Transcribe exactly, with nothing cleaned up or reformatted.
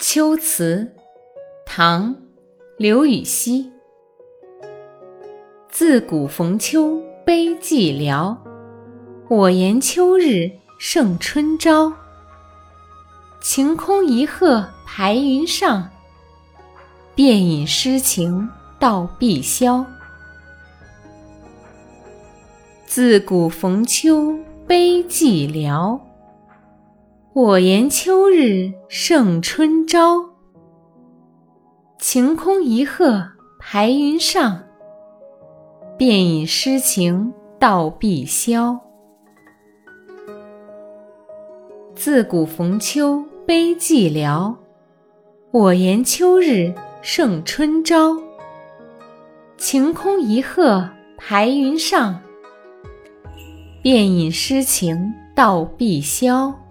秋词，唐·刘禹锡。自古逢秋悲寂寥，我言秋日胜春朝。晴空一鹤排云上，便引诗情到碧霄。自古逢秋悲寂寥，我言秋日胜春朝。晴空一鹤排云上，便引诗情到碧霄。自古逢秋悲寂寥，我言秋日胜春朝。晴空一鹤排云上，便引诗情到碧霄。